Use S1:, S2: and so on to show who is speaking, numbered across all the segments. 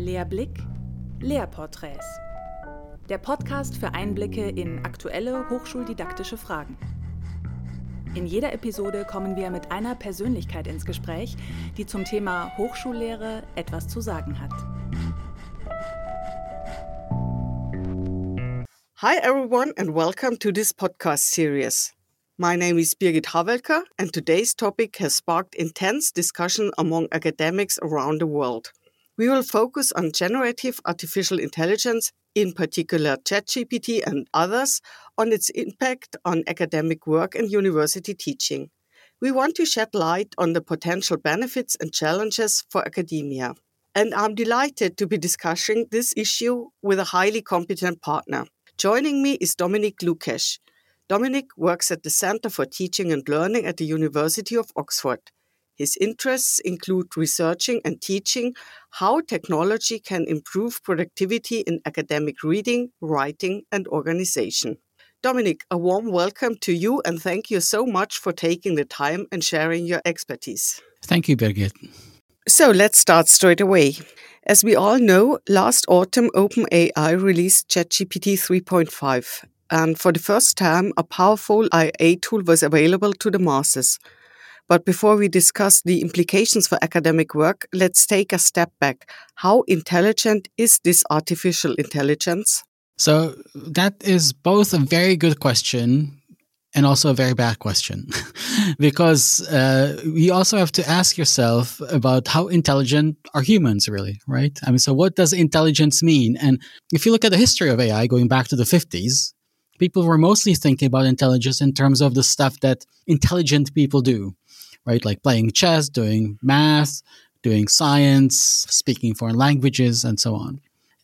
S1: Lehrblick, Lehrporträts. Der Podcast für Einblicke in aktuelle hochschuldidaktische Fragen. In jeder Episode kommen wir mit einer Persönlichkeit ins Gespräch, die zum Thema Hochschullehre etwas zu sagen hat.
S2: Hi everyone and welcome to this podcast series. My name is Birgit Havelka and today's topic has sparked intense discussion among academics around the world. We will focus on generative artificial intelligence, in particular ChatGPT and others, on its impact on academic work and university teaching. We want to shed light on the potential benefits and challenges for academia. And I'm delighted to be discussing this issue with a highly competent partner. Joining me is Dominik Lukesch. Dominik works at the Center for Teaching and Learning at the University of Oxford. His interests include researching and teaching how technology can improve productivity in academic reading, writing, and organization. Dominik, a warm welcome to you and thank you so much for taking the time and sharing your expertise.
S3: Thank you, Birgit.
S2: So let's start straight away. As we all know, last autumn OpenAI released ChatGPT 3.5, and for the first time a powerful AI tool was available to the masses. But before we discuss the implications for academic work, let's take a step back. How intelligent is this artificial intelligence?
S3: So that is both a very good question and also a very bad question, because you also have to ask yourself about how intelligent are humans really, right? I mean, so what does intelligence mean? And if you look at the history of AI going back to the 50s, people were mostly thinking about intelligence in terms of the stuff that intelligent people do, right? Like playing chess, doing math, doing science, speaking foreign languages, and so on.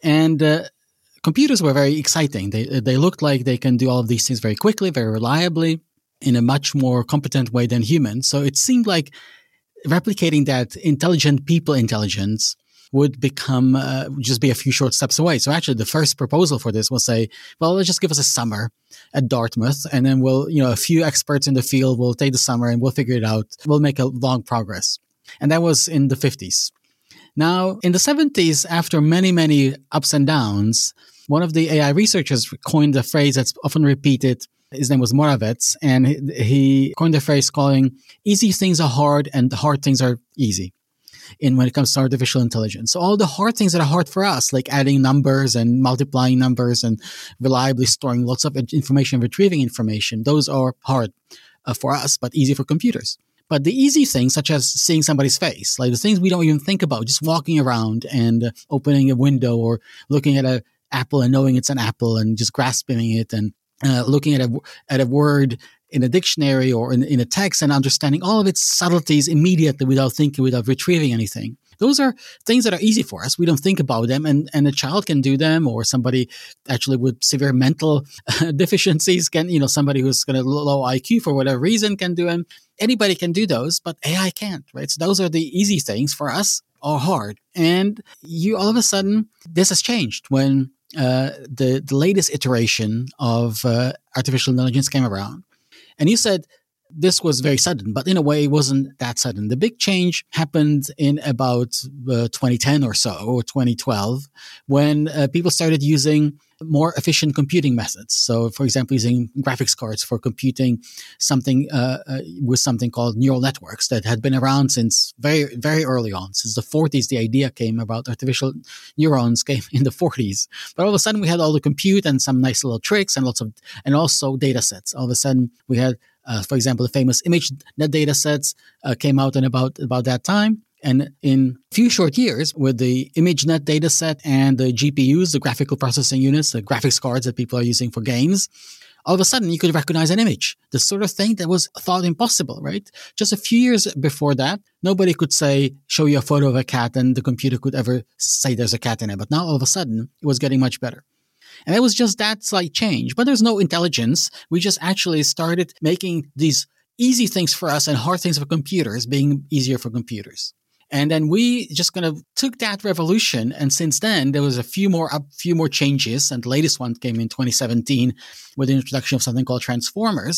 S3: And computers were very exciting. They looked like they can do all of these things very quickly, very reliably, in a much more competent way than humans. So it seemed like replicating that intelligent people intelligence would become just be a few short steps away. So actually, the first proposal for this was say, well, let's just give us a summer at Dartmouth, and then we'll, a few experts in the field will take the summer and we'll figure it out. We'll make a long progress. And that was in the 50s. Now, in the 70s, after many, many ups and downs, one of the AI researchers coined a phrase that's often repeated. His name was Moravec, and he coined a phrase calling easy things are hard and hard things are easy when it comes to artificial intelligence. So all the hard things that are hard for us, like adding numbers and multiplying numbers and reliably storing lots of information, retrieving information, those are hard for us, but easy for computers. But the easy things, such as seeing somebody's face, like the things we don't even think about, just walking around and opening a window or looking at an apple and knowing it's an apple and just grasping it and looking at a word in a dictionary or in a text and understanding all of its subtleties immediately without thinking, without retrieving anything. Those are things that are easy for us. We don't think about them, and a child can do them, or somebody actually with severe mental deficiencies can, somebody who's got a low IQ for whatever reason can do them. Anybody can do those, but AI can't, right? So those are the easy things for us are hard. And all of a sudden, this has changed when the latest iteration of artificial intelligence came around. And you said this was very sudden, but in a way it wasn't that sudden. The big change happened in about 2010 or so, or 2012, when people started using more efficient computing methods. So, for example, using graphics cards for computing something with something called neural networks that had been around since very, very early on. Since the 40s, the idea came about artificial neurons came in the 40s. But all of a sudden, we had all the compute and some nice little tricks and and also data sets. All of a sudden, we had, for example, the famous ImageNet data sets came out in about that time. And in a few short years, with the ImageNet dataset and the GPUs, the graphical processing units, the graphics cards that people are using for games, all of a sudden you could recognize an image. The sort of thing that was thought impossible, right? Just a few years before that, nobody could show you a photo of a cat and the computer could ever say there's a cat in it. But now all of a sudden it was getting much better. And it was just that slight change. But there's no intelligence. We just actually started making these easy things for us and hard things for computers being easier for computers. And then we just kind of took that revolution. And since then, there was a few more changes. And the latest one came in 2017 with the introduction of something called transformers.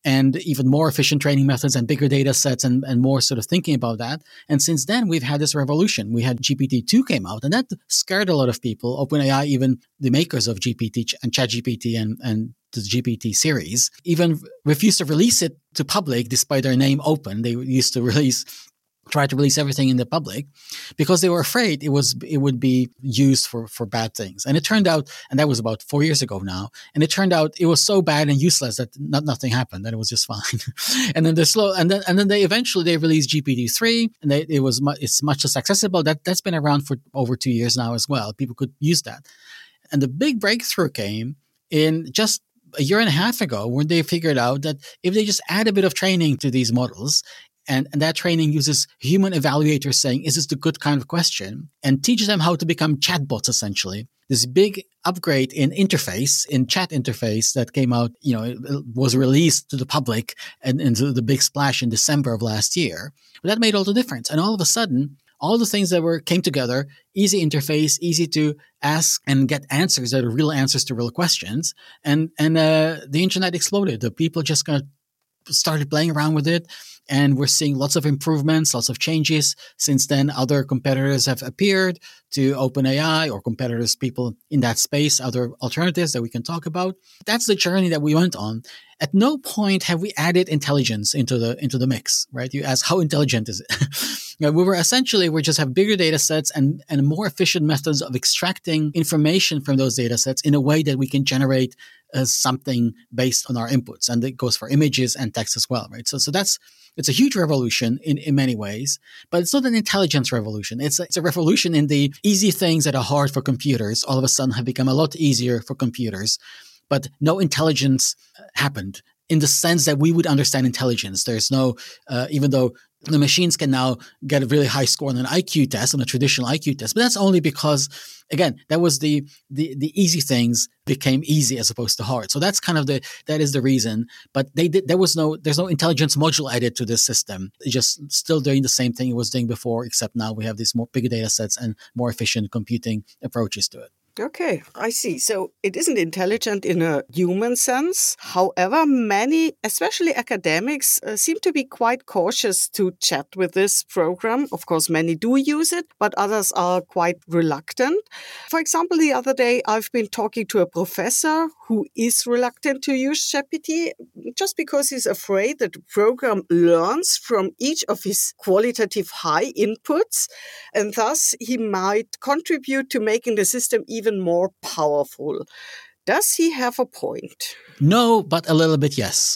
S3: and even more efficient training methods and bigger data sets and more sort of thinking about that. And since then, we've had this revolution. We had GPT-2 came out, and that scared a lot of people. OpenAI, even the makers of GPT and ChatGPT and the GPT series, even refused to release it to public despite their name open. They used to try to release everything in the public because they were afraid it would be used for bad things. And it turned out, and that was about 4 years ago now, and it turned out it was so bad and useless that nothing happened, and it was just fine. And then they eventually released GPT-3, and it's much less accessible. That's been around for over 2 years now as well. People could use that. And the big breakthrough came in just a year and a half ago when they figured out that if they just add a bit of training to these models, and that training uses human evaluators saying, is this the good kind of question? And teaches them how to become chatbots, essentially. This big upgrade in chat interface that came out, it was released to the public and into the big splash in December of last year. But that made all the difference. And all of a sudden, all the things that came together, easy interface, easy to ask and get answers that are real answers to real questions. And the internet exploded. The people just kind of started playing around with it. And we're seeing lots of improvements, lots of changes. Since then, other competitors have appeared to OpenAI or competitors, people in that space, other alternatives that we can talk about. That's the journey that we went on. At no point have we added intelligence into the mix, right? You ask, how intelligent is it? We just have bigger data sets and more efficient methods of extracting information from those data sets in a way that we can generate something based on our inputs. And it goes for images and text as well, right? So it's a huge revolution in many ways, but it's not an intelligence revolution. It's a revolution in the easy things that are hard for computers all of a sudden have become a lot easier for computers, but no intelligence happened in the sense that we would understand intelligence. There's no, even though the machines can now get a really high score on an IQ test, on a traditional IQ test, but that's only because, again, that was the easy things became easy as opposed to hard. So that's kind of that is the reason. But there's no intelligence module added to this system. It's just still doing the same thing it was doing before, except now we have these more bigger data sets and more efficient computing approaches to it.
S2: Okay, I see. So it isn't intelligent in a human sense. However, many, especially academics, seem to be quite cautious to chat with this program. Of course, many do use it, but others are quite reluctant. For example, the other day, I've been talking to a professor who is reluctant to use GPT just because he's afraid that the program learns from each of his qualitative high inputs, and thus he might contribute to making the system even more powerful. Does he have a point?
S3: No, but a little bit yes.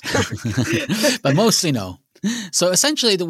S3: But mostly no. So essentially, the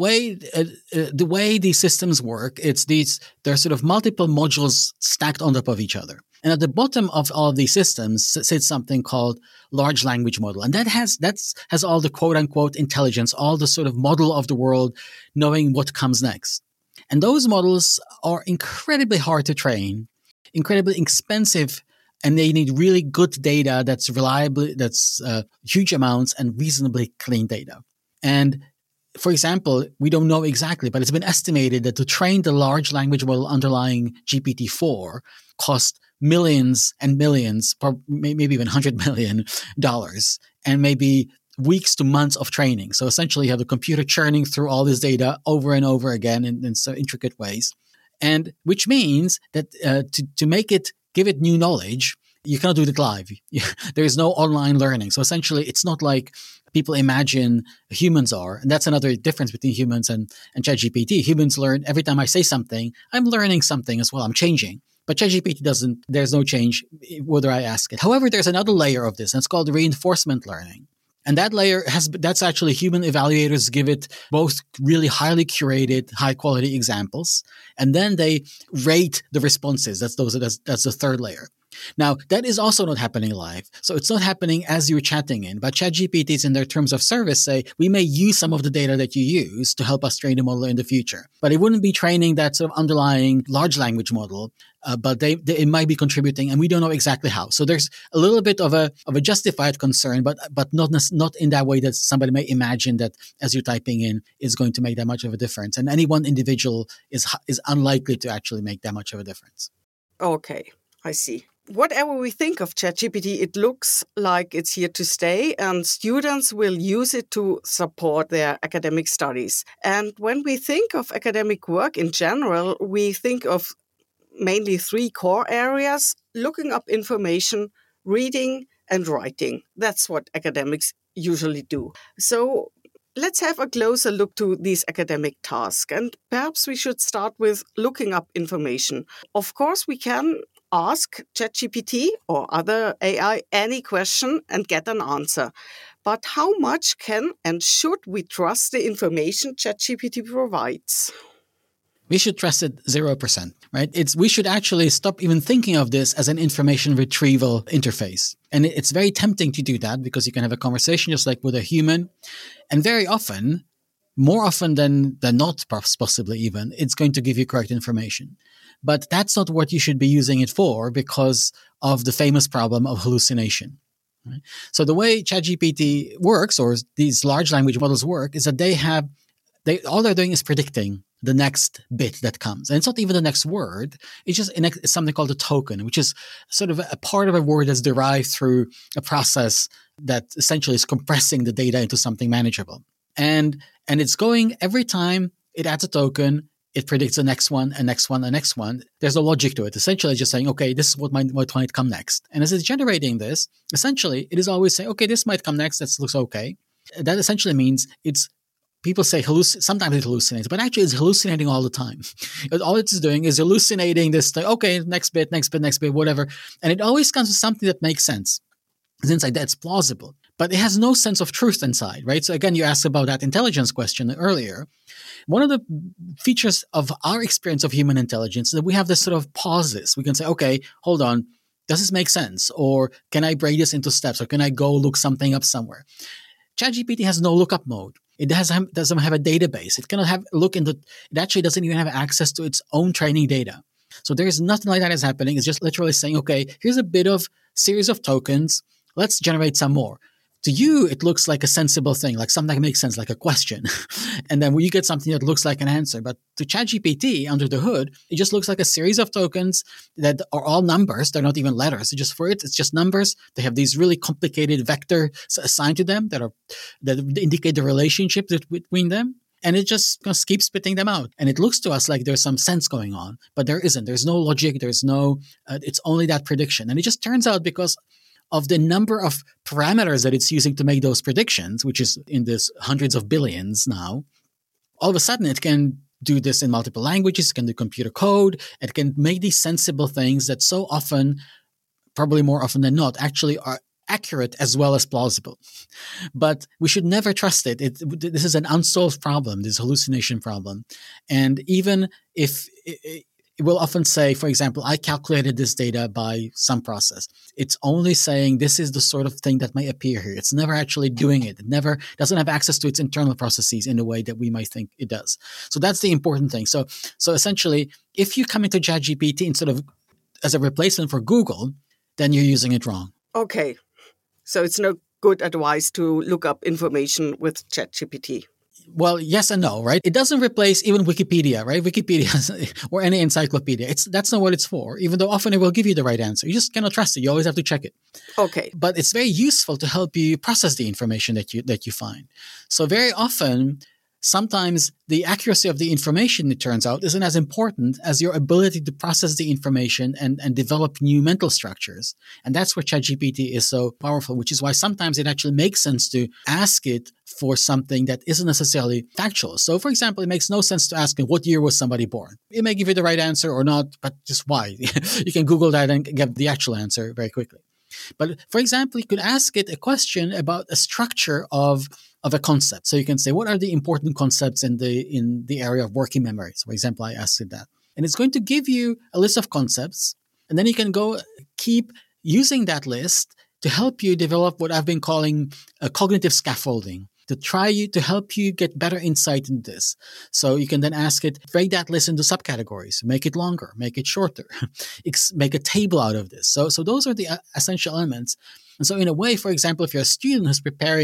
S3: way these systems work, there's sort of multiple modules stacked on top of each other. And at the bottom of all of these systems sits something called large language model. And that has all the quote unquote intelligence, all the sort of model of the world, knowing what comes next. And those models are incredibly hard to train, incredibly expensive, and they need really good data that's reliable, that's huge amounts and reasonably clean data. And for example, we don't know exactly, but it's been estimated that to train the large language model underlying GPT-4 cost millions and millions, maybe even $100 million, and maybe weeks to months of training. So essentially you have the computer churning through all this data over and over again in so intricate ways. And which means that to give it new knowledge, you cannot do it live. There is no online learning. So essentially, it's not like people imagine humans are. And that's another difference between humans and ChatGPT. Humans learn every time I say something, I'm learning something as well. I'm changing. But ChatGPT doesn't, there's no change whether I ask it. However, there's another layer of this, and it's called reinforcement learning. And that layer that's actually human evaluators give it both really highly curated, high quality examples, and then they rate the responses. That's the third layer. Now, that is also not happening live. So it's not happening as you're chatting in, but ChatGPTs in their terms of service say, we may use some of the data that you use to help us train the model in the future. But it wouldn't be training that sort of underlying large language model, but it might be contributing, and we don't know exactly how. So there's a little bit of a justified concern, but not in that way that somebody may imagine that as you're typing in is going to make that much of a difference. And any one individual is unlikely to actually make that much of a difference.
S2: Okay, I see. whatever we think of ChatGPT, it looks like it's here to stay, and students will use it to support their academic studies. And when we think of academic work in general, we think of mainly three core areas: looking up information, reading, and writing. That's what academics usually do. So let's have a closer look to these academic tasks. And perhaps we should start with looking up information. Of course, we can ask ChatGPT or other AI any question and get an answer. But how much can and should we trust the information ChatGPT provides?
S3: We should trust it 0%, right? We should actually stop even thinking of this as an information retrieval interface. And it's very tempting to do that because you can have a conversation just like with a human. And very often, more often than not, possibly even, it's going to give you correct information. But that's not what you should be using it for because of the famous problem of hallucination. Right? So the way ChatGPT works, or these large language models work, is that all they're doing is predicting the next bit that comes. And it's not even the next word. It's just something called a token, which is sort of a part of a word that's derived through a process that essentially is compressing the data into something manageable. And it's going every time it adds a token, it predicts the next one, and next one, and next one. There's no logic to it. Essentially, it's just saying, okay, this is what might come next. And as it's generating this, essentially, it is always saying, okay, this might come next. That looks okay. That essentially means people say sometimes it hallucinates, but actually it's hallucinating all the time. All it's doing is hallucinating this thing. Okay, next bit, whatever. And it always comes with something that makes sense. It's inside that's plausible, but it has no sense of truth inside, right? So again, you asked about that intelligence question earlier. One of the features of our experience of human intelligence is that we have this sort of pauses. We can say, okay, hold on. Does this make sense? Or can I break this into steps? Or can I go look something up somewhere? ChatGPT has no lookup mode. It doesn't have a database. It cannot it actually doesn't even have access to its own training data. So there is nothing like that is happening. It's just literally saying, okay, here's a bit of series of tokens. Let's generate some more. To you, it looks like a sensible thing, like something that makes sense, like a question. And then when you get something that looks like an answer. But to ChatGPT, under the hood, it just looks like a series of tokens that are all numbers. They're not even letters. It's just numbers. They have these really complicated vectors assigned to them that indicate the relationship between them. And it just keeps spitting them out. And it looks to us like there's some sense going on, but there isn't. There's no logic. There's no, it's only that prediction. And it just turns out because of the number of parameters that it's using to make those predictions, which is in this hundreds of billions now, all of a sudden it can do this in multiple languages, it can do computer code, it can make these sensible things that so often, probably more often than not, actually are accurate as well as plausible. But we should never trust it. This is an unsolved problem, this hallucination problem. And even if it will often say, for example, I calculated this data by some process. It's only saying this is the sort of thing that may appear here. It's never actually doing it. It never doesn't have access to its internal processes in the way that we might think it does. So that's the important thing. So essentially, if you come into ChatGPT instead of as a replacement for Google, then you're using it wrong.
S2: Okay. So it's no good advice to look up information with ChatGPT.
S3: Well, yes and no, right? It doesn't replace even Wikipedia, right? Wikipedia or any encyclopedia. That's not what it's for, even though often it will give you the right answer. You just cannot trust it. You always have to check it.
S2: Okay.
S3: But it's very useful to help you process the information that you find. So very often, sometimes the accuracy of the information, it turns out, isn't as important as your ability to process the information and develop new mental structures. And that's where ChatGPT is so powerful, which is why sometimes it actually makes sense to ask it for something that isn't necessarily factual. So, for example, it makes no sense to ask it, what year was somebody born? It may give you the right answer or not, but just why? You can Google that and get the actual answer very quickly. But for example, you could ask it a question about a structure of a concept. So you can say, what are the important concepts in the area of working memory? So for example, I asked it that. And it's going to give you a list of concepts. And then you can go keep using that list to help you develop what I've been calling a cognitive scaffolding, to help you get better insight in this. So you can then ask it, break that list into subcategories, make it longer, make it shorter, make a table out of this. So those are the essential elements. And so in a way, for example, if you're a student who's preparing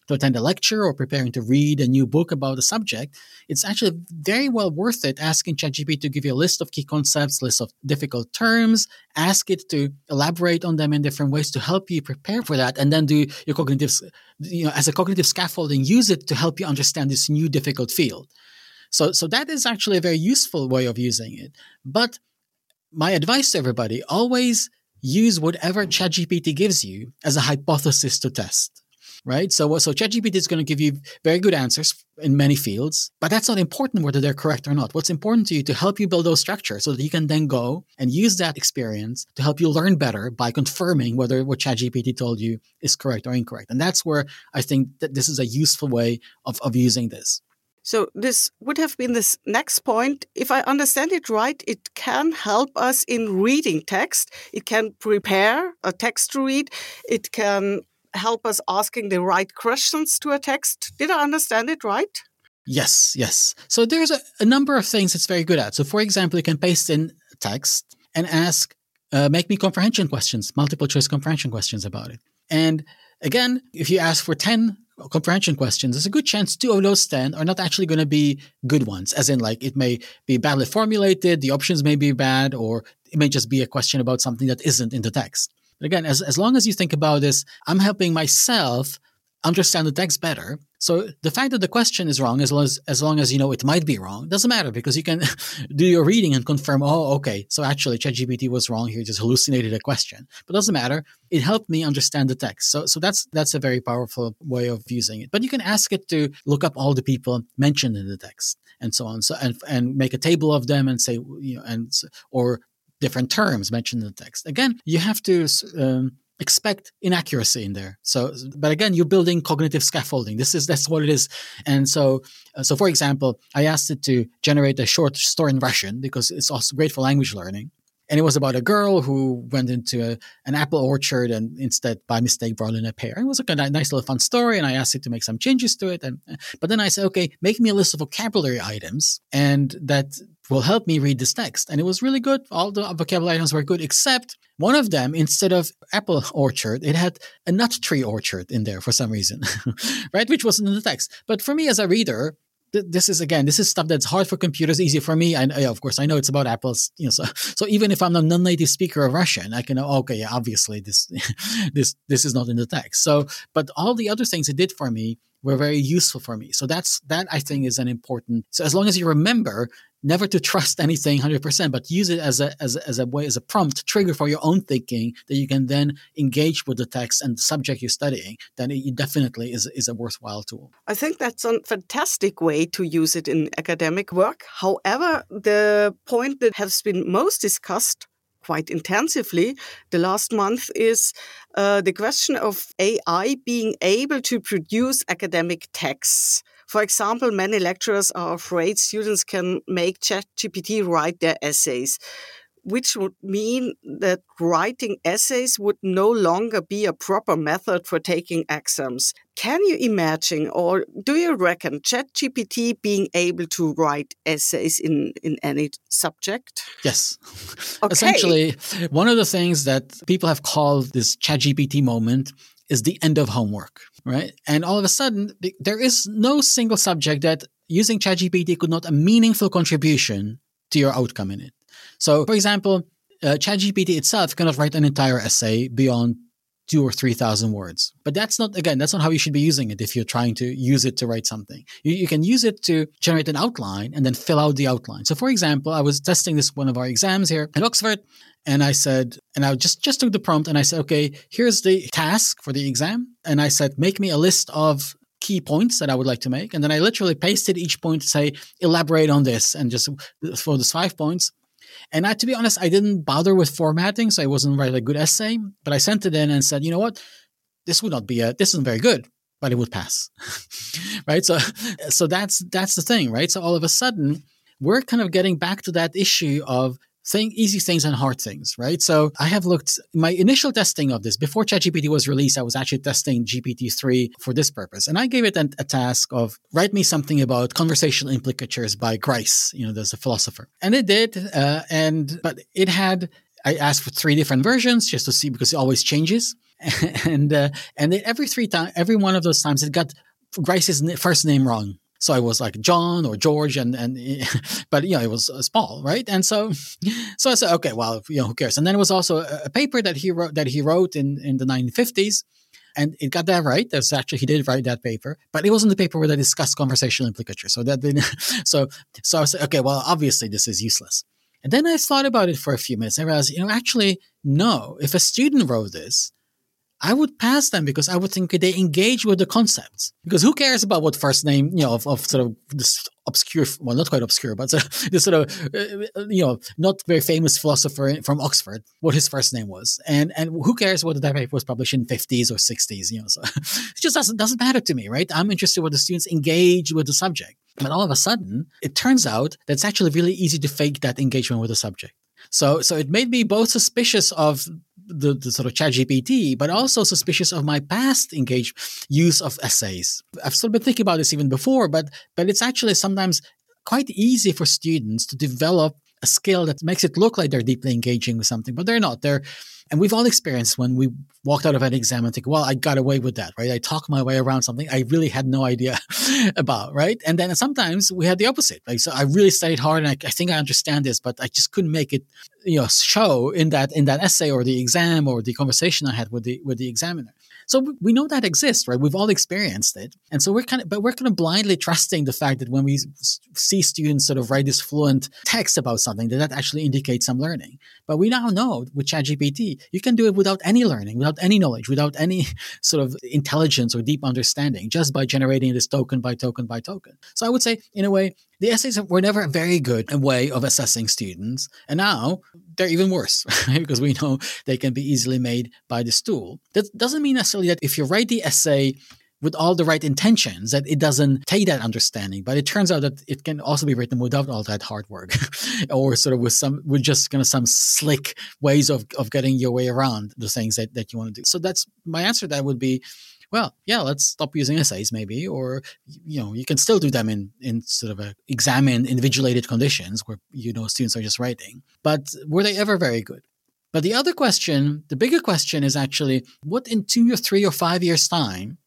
S3: to attend a lecture or preparing to read a new book about a subject, it's actually very well worth it asking ChatGPT to give you a list of key concepts, list of difficult terms, ask it to elaborate on them in different ways to help you prepare for that, and then do your cognitive, as a cognitive scaffolding, use it to help you understand this new difficult field. So that is actually a very useful way of using it. But my advice to everybody, always use whatever ChatGPT gives you as a hypothesis to test, right? So ChatGPT is going to give you very good answers in many fields, but that's not important whether they're correct or not. What's important to you to help you build those structures so that you can then go and use that experience to help you learn better by confirming whether what ChatGPT told you is correct or incorrect. And that's where I think that this is a useful way of using this.
S2: So this would have been this next point. If I understand it right, it can help us in reading text. It can prepare a text to read. It can help us asking the right questions to a text. Did I understand it right?
S3: Yes. So there's a number of things it's very good at. So for example, you can paste in text and ask, make me comprehension questions, multiple choice comprehension questions about it. And again, if you ask for 10 comprehension questions, there's a good chance 2 of those 10 are not actually going to be good ones, as in like it may be badly formulated, the options may be bad, or it may just be a question about something that isn't in the text. But again, as long as you think about this, I'm helping myself understand the text better. So the fact that the question is wrong, as long as you know it might be wrong, doesn't matter, because you can do your reading and confirm, oh, okay, so actually ChatGPT was wrong here, just hallucinated a question. But it doesn't matter. It helped me understand the text. So that's a very powerful way of using it. But you can ask it to look up all the people mentioned in the text and so on. So and make a table of them and say, or different terms mentioned in the text. Again, you have to expect inaccuracy in there. But again, you're building cognitive scaffolding. That's what it is. And so for example, I asked it to generate a short story in Russian because it's also great for language learning. And it was about a girl who went into an apple orchard and instead, by mistake, brought in a pear. It was a nice little fun story, and I asked it to make some changes to it. But then I said, okay, make me a list of vocabulary items, and that will help me read this text. And it was really good. All the vocabulary items were good, except one of them, instead of apple orchard, it had a nut tree orchard in there for some reason, right? Which wasn't in the text. But for me as a reader, this is stuff that's hard for computers, easy for me. Of course, I know it's about apples. So even if I'm a non-native speaker of Russian, I can know, okay, yeah, obviously this is not in the text. So, but all the other things it did for me were very useful for me. So that I think is an important. So as long as you remember never to trust anything 100%, but use it as a way, as a prompt trigger for your own thinking that you can then engage with the text and the subject you're studying, then it definitely is a worthwhile tool.
S2: I think that's a fantastic way to use it in academic work. However, the point that has been most discussed quite intensively the last month is the question of AI being able to produce academic texts. For example, many lecturers are afraid students can make ChatGPT write their essays, which would mean that writing essays would no longer be a proper method for taking exams. Can you imagine, or do you reckon, ChatGPT being able to write essays in any subject?
S3: Yes.
S2: Okay.
S3: Essentially, one of the things that people have called this ChatGPT moment is the end of homework, right? And all of a sudden, there is no single subject that using ChatGPT could not a meaningful contribution to your outcome in it. So, for example, ChatGPT itself cannot write an entire essay beyond 2,000 or 3,000 words. But that's not how you should be using it if you're trying to use it to write something. You can use it to generate an outline and then fill out the outline. So, for example, I was testing this one of our exams here at Oxford, and I said, and I just took the prompt and I said, okay, here's the task for the exam. And I said, make me a list of key points that I would like to make. And then I literally pasted each point to say, elaborate on this, and just for those 5 points. And to be honest, I didn't bother with formatting, so I wasn't writing a good essay. But I sent it in and said, you know what, this isn't very good, but it would pass, right? So that's the thing, right? So all of a sudden, we're kind of getting back to that issue of easy things and hard things, right? So I have looked, my initial testing of this, before ChatGPT was released, I was actually testing GPT-3 for this purpose. And I gave it a task of write me something about conversational implicatures by Grice, there's a philosopher. And it did, but it had, I asked for 3 different versions just to see, because it always changes. and every one of those times it got Grace's first name wrong. So I was like John or George, and but it was small, right? And so I said, okay, well, who cares? And then it was also a paper that he wrote in the 1950s, and it got that right. He did write that paper, but it wasn't the paper where they discussed conversational implicature. So that didn't. So I said, okay, well, obviously this is useless. And then I thought about it for a few minutes. I realized, actually, no. If a student wrote this, I would pass them because I would think they engage with the concepts. Because who cares about what first name, of sort of this obscure, well, not quite obscure, but this sort of, not very famous philosopher from Oxford, what his first name was. And who cares whether that paper was published in 50s or 60s, so it just doesn't matter to me, right? I'm interested whether students engage with the subject. But all of a sudden, it turns out that it's actually really easy to fake that engagement with the subject. So it made me both suspicious of the sort of ChatGPT, but also suspicious of my past use of essays. I've sort of been thinking about this even before, but it's actually sometimes quite easy for students to develop a skill that makes it look like they're deeply engaging with something, but they're not. And we've all experienced when we walked out of an exam and think, well, I got away with that, right? I talked my way around something I really had no idea about, right? And then sometimes we had the opposite. Like, so I really studied hard and I think I understand this, but I just couldn't make it, show in that essay or the exam or the conversation I had with the examiner. So we know that exists, right? We've all experienced it. And so we're kind of blindly trusting the fact that when we see students sort of write this fluent text about something, that actually indicates some learning. But we now know with ChatGPT, you can do it without any learning, without any knowledge, without any sort of intelligence or deep understanding, just by generating this token by token by token. So I would say, in a way, the essays were never a very good way of assessing students. And now they're even worse, right? Because we know they can be easily made by this tool. That doesn't mean necessarily that if you write the essay with all the right intentions, that it doesn't take that understanding. But it turns out that it can also be written without all that hard work or sort of with just kind of some slick ways of getting your way around the things that you want to do. So that's my answer. That would be, well, yeah, let's stop using essays maybe, or, you can still do them in sort of examined, individuated conditions where, students are just writing. But were they ever very good? But the other question, the bigger question is actually, what in 2 or 3 or 5 years' time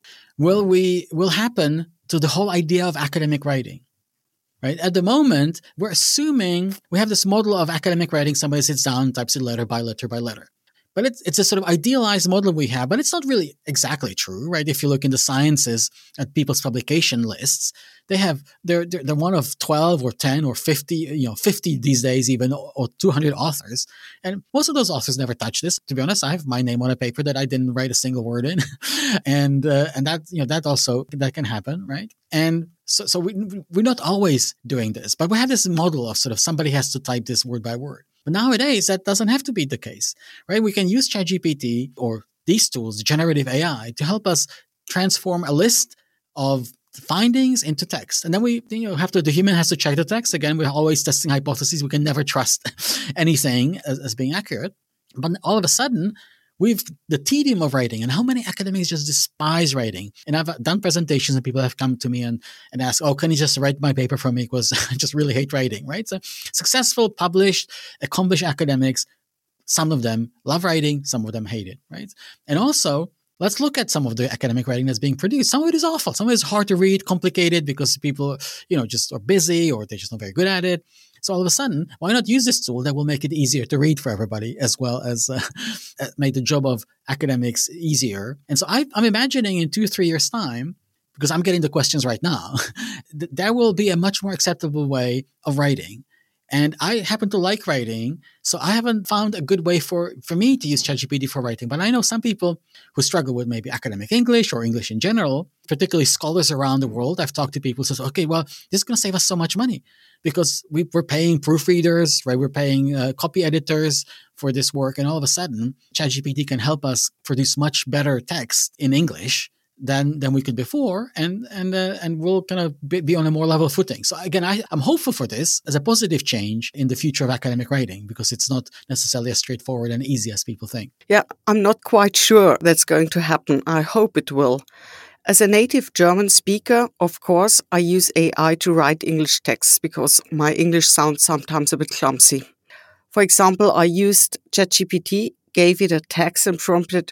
S3: will happen to the whole idea of academic writing? Right? At the moment, we're assuming we have this model of academic writing. Somebody sits down, types it letter by letter by letter. But it's a sort of idealized model we have, but it's not really exactly true, right? If you look in the sciences at people's publication lists, they're one of 12 or 10 or 50, 50 these days even, or 200 authors. And most of those authors never touch this. To be honest, I have my name on a paper that I didn't write a single word in. and that also, that can happen, right? And so we're not always doing this, but we have this model of sort of somebody has to type this word by word. But nowadays, that doesn't have to be the case, right? We can use ChatGPT or these tools, generative AI, to help us transform a list of findings into text. And then the human has to check the text. Again, we're always testing hypotheses. We can never trust anything as being accurate. But all of a sudden, we've the tedium of writing, and how many academics just despise writing. And I've done presentations and people have come to me and asked, oh, can you just write my paper for me? Because I just really hate writing, right? So successful, published, accomplished academics, some of them love writing, some of them hate it, right? And also, let's look at some of the academic writing that's being produced. Some of it is awful. Some of it is hard to read, complicated because people, just are busy or they're just not very good at it. So all of a sudden, why not use this tool that will make it easier to read for everybody, as well as make the job of academics easier? And so I'm imagining in 2 or 3 years' time, because I'm getting the questions right now, there will be a much more acceptable way of writing. And I happen to like writing, so I haven't found a good way for me to use ChatGPT for writing. But I know some people who struggle with maybe academic English or English in general, particularly scholars around the world. I've talked to people who say, okay, well, this is going to save us so much money because we're paying proofreaders, right? We're paying copy editors for this work. And all of a sudden, ChatGPT can help us produce much better text in English than we could before, and we'll kind of be on a more level footing. So again, I'm hopeful for this as a positive change in the future of academic writing, because it's not necessarily as straightforward and easy as people think.
S2: Yeah, I'm not quite sure that's going to happen. I hope it will. As a native German speaker, of course, I use AI to write English texts because my English sounds sometimes a bit clumsy. For example, I used ChatGPT, gave it a text and prompted,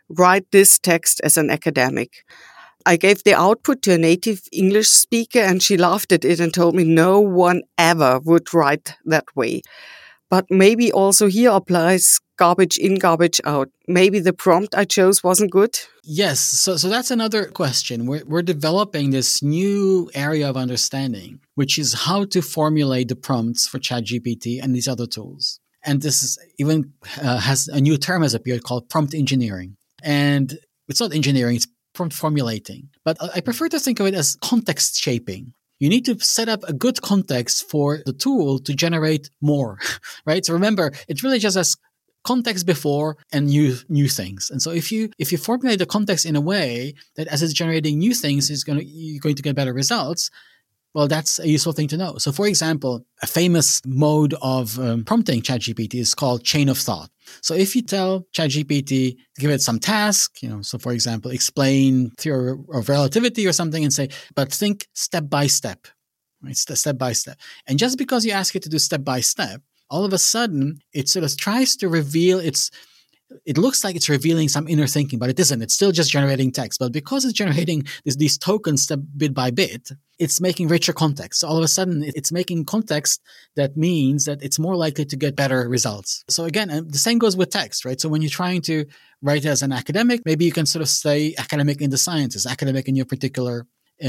S2: write this text as an academic. I gave the output to a native English speaker and she laughed at it and told me no one ever would write that way. But maybe also here applies garbage in, garbage out. Maybe the prompt I chose wasn't good.
S3: Yes. So that's another question. We're developing this new area of understanding, which is how to formulate the prompts for ChatGPT and these other tools. And this is even has a new term has appeared called prompt engineering. And it's not engineering, it's prompt formulating. But I prefer to think of it as context shaping. You need to set up a good context for the tool to generate more, right? So remember, it really just has context before and new things. And so if you formulate the context in a way that as it's generating new things, you're going to get better results, well, that's a useful thing to know. So for example, a famous mode of prompting ChatGPT is called chain of thought. So if you tell ChatGPT, give it some task, so for example, explain theory of relativity or something and say, but think step by step, right? Step by step. And just because you ask it to do step by step, all of a sudden it sort of tries to reveal it looks like it's revealing some inner thinking, but it isn't. It's still just generating text. But because it's generating these tokens step bit by bit, it's making richer context. So all of a sudden, it's making context that means that it's more likely to get better results. So again, the same goes with text, right? So when you're trying to write as an academic, maybe you can sort of say academic in the sciences, academic in your particular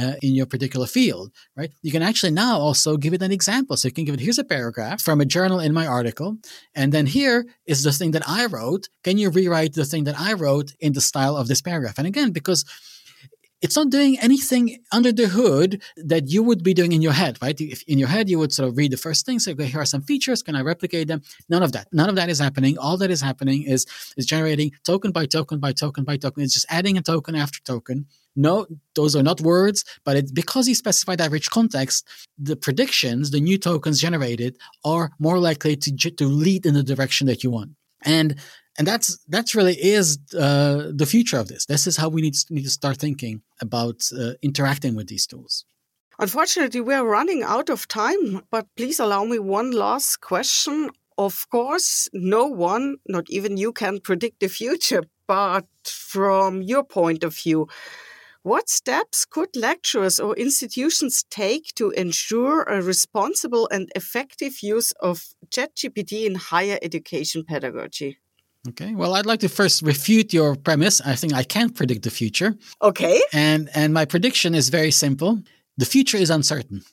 S3: field, right? You can actually now also give it an example. So you can give it, here's a paragraph from a journal in my article. And then here is the thing that I wrote. Can you rewrite the thing that I wrote in the style of this paragraph? And again, because it's not doing anything under the hood that you would be doing in your head, right? If in your head, you would sort of read the first thing, say, okay, here are some features. Can I replicate them? None of that. None of that is happening. All that is happening is generating token by token by token by token. It's just adding a token after token. No, those are not words, but it's because you specify that rich context, the predictions, the new tokens generated are more likely to lead in the direction that you want. And that's really is the future of this. This is how we need to start thinking about interacting with these tools.
S2: Unfortunately, we are running out of time, but please allow me one last question. Of course, no one, not even you, can predict the future, but from your point of view, what steps could lecturers or institutions take to ensure a responsible and effective use of ChatGPT in higher education pedagogy?
S3: Okay, well, I'd like to first refute your premise. I think I can't predict the future.
S2: Okay.
S3: And my prediction is very simple. The future is uncertain.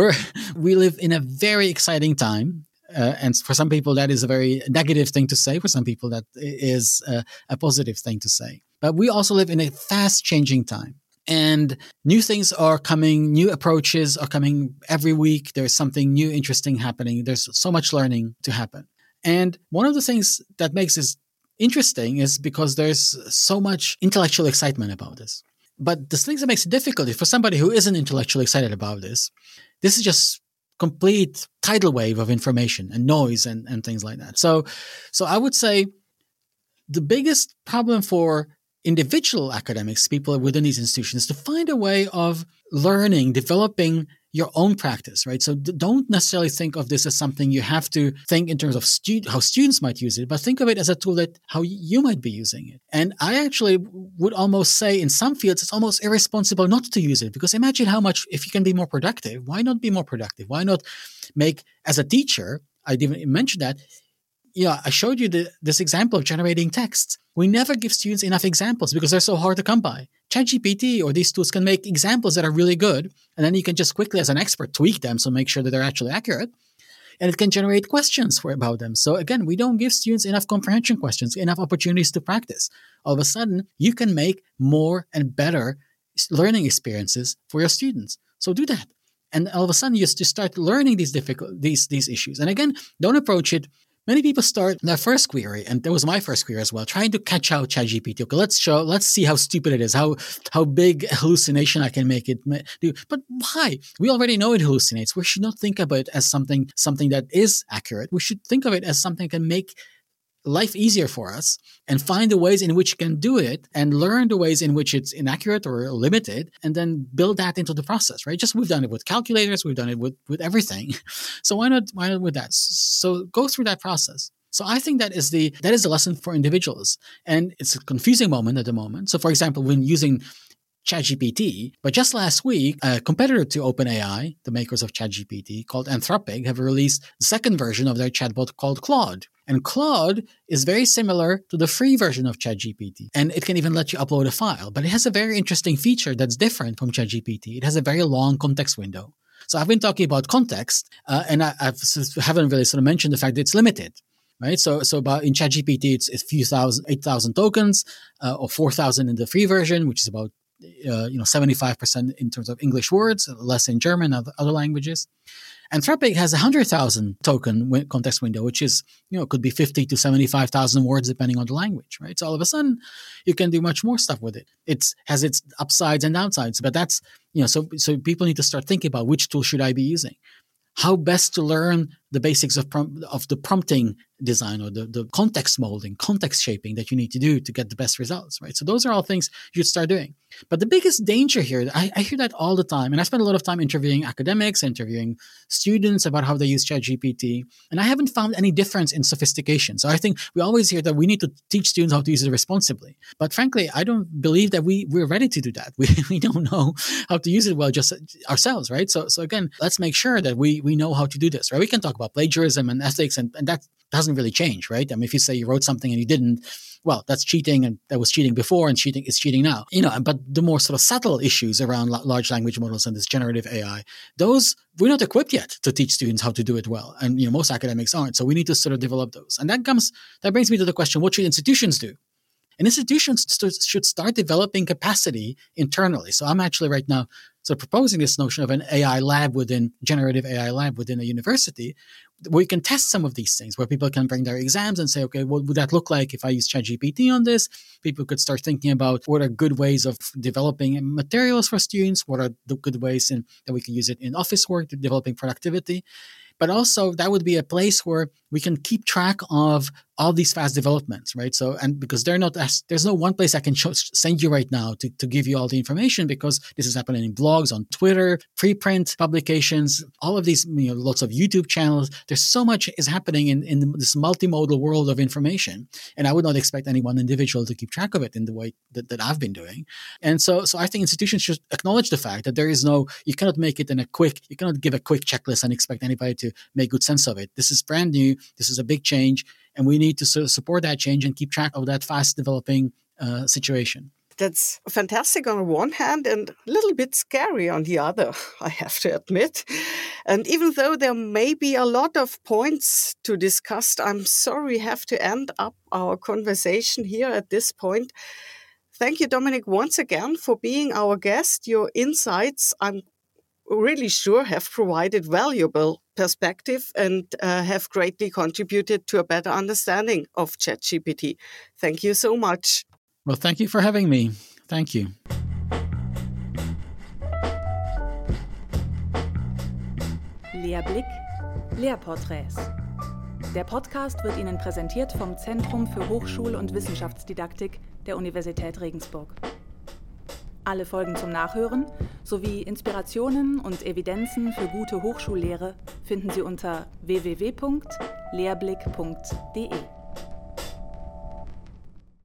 S3: We live in a very exciting time. And for some people, that is a very negative thing to say. For some people, that is a positive thing to say. But we also live in a fast-changing time. And new things are coming, new approaches are coming every week. There's something new, interesting happening. There's so much learning to happen. And one of the things that makes this interesting is because there's so much intellectual excitement about this. But the thing that makes it difficult is for somebody who isn't intellectually excited about this is just complete tidal wave of information and noise and things like that. So I would say the biggest problem for individual academics, people within these institutions, to find a way of learning, developing your own practice, right? So don't necessarily think of this as something you have to think in terms of how students might use it, but think of it as a tool that how you might be using it. And I actually would almost say in some fields, it's almost irresponsible not to use it, because imagine how much, if you can be more productive, why not be more productive? Why not make, as a teacher, I didn't mention that, I showed you this example of generating text. We never give students enough examples because they're so hard to come by. ChatGPT or these tools can make examples that are really good, and then you can just quickly, as an expert, tweak them so make sure that they're actually accurate. And it can generate questions about them. So again, we don't give students enough comprehension questions, enough opportunities to practice. All of a sudden, you can make more and better learning experiences for your students. So do that. And all of a sudden, you just start learning these issues. And again, don't approach it. Many people start their first query, and that was my first query as well, trying to catch out ChatGPT. Okay, let's see how stupid it is, how big hallucination I can make it do. But why? We already know it hallucinates. We should not think about it as something that is accurate. We should think of it as something that can make life easier for us and find the ways in which you can do it and learn the ways in which it's inaccurate or limited, and then build that into the process, right? Just we've done it with calculators, we've done it with everything. So why not with that? So go through that process. So I think that is the lesson for individuals. And it's a confusing moment at the moment. So for example, when using ChatGPT, but just last week, a competitor to OpenAI, the makers of ChatGPT, called Anthropic, have released the second version of their chatbot called Claude. And Claude is very similar to the free version of ChatGPT. And it can even let you upload a file. But it has a very interesting feature that's different from ChatGPT. It has a very long context window. So I've been talking about context, and I haven't really sort of mentioned the fact that it's limited. Right, so about in ChatGPT, it's 8,000 tokens, or 4,000 in the free version, which is about 75% in terms of English words, less in German and other languages. Anthropic has 100,000 token context window, which is, could be 50 to 75,000 words depending on the language, right? So all of a sudden, you can do much more stuff with it. It has its upsides and downsides, but that's, so people need to start thinking about which tool should I be using? How best to learn the basics of the prompting design or the context molding, context shaping that you need to do to get the best results, right? So those are all things you should start doing. But the biggest danger here, I hear that all the time, and I spend a lot of time interviewing academics, interviewing students about how they use ChatGPT, and I haven't found any difference in sophistication. So I think we always hear that we need to teach students how to use it responsibly. But frankly, I don't believe that we're ready to do that. We don't know how to use it well just ourselves, right? So again, let's make sure that we know how to do this, right? We can talk about plagiarism and ethics, and that doesn't really change, right? I mean, if you say you wrote something and you didn't, well, that's cheating, and that was cheating before, and cheating is cheating now. But the more sort of subtle issues around large language models and this generative AI, those we're not equipped yet to teach students how to do it well, and most academics aren't. So we need to sort of develop those, and that brings me to the question: what should institutions do? And institutions should start developing capacity internally. So I'm actually right now proposing this notion of an generative AI lab within a university, where you can test some of these things, where people can bring their exams and say, okay, what would that look like if I use ChatGPT on this? People could start thinking about what are good ways of developing materials for students, what are the good ways that we can use it in office work, developing productivity. But also that would be a place where we can keep track of all these fast developments, right? So, and because there's no one place I can send you right now to give you all the information, because this is happening in blogs, on Twitter, preprint publications, all of these, lots of YouTube channels. There's so much is happening in this multimodal world of information. And I would not expect any one individual to keep track of it in the way that I've been doing. And so I think institutions should acknowledge the fact that you cannot make it you cannot give a quick checklist and expect anybody to make good sense of it. This is brand new. This is a big change. And we need to sort of support that change and keep track of that fast developing situation.
S2: That's fantastic on the one hand and a little bit scary on the other, I have to admit. And even though there may be a lot of points to discuss, I'm sorry we have to end up our conversation here at this point. Thank you, Dominik, once again for being our guest. Your insights, I'm really sure, have provided valuable perspective and have greatly contributed to a better understanding of ChatGPT. Thank you so much.
S3: Well, thank you for having me. Thank you.
S1: Lehrblick, Lehrporträts. Der Podcast wird Ihnen präsentiert vom Zentrum für Hochschul- und Wissenschaftsdidaktik der Universität Regensburg. Alle Folgen zum Nachhören sowie Inspirationen und Evidenzen für gute Hochschullehre finden Sie unter www.lehrblick.de.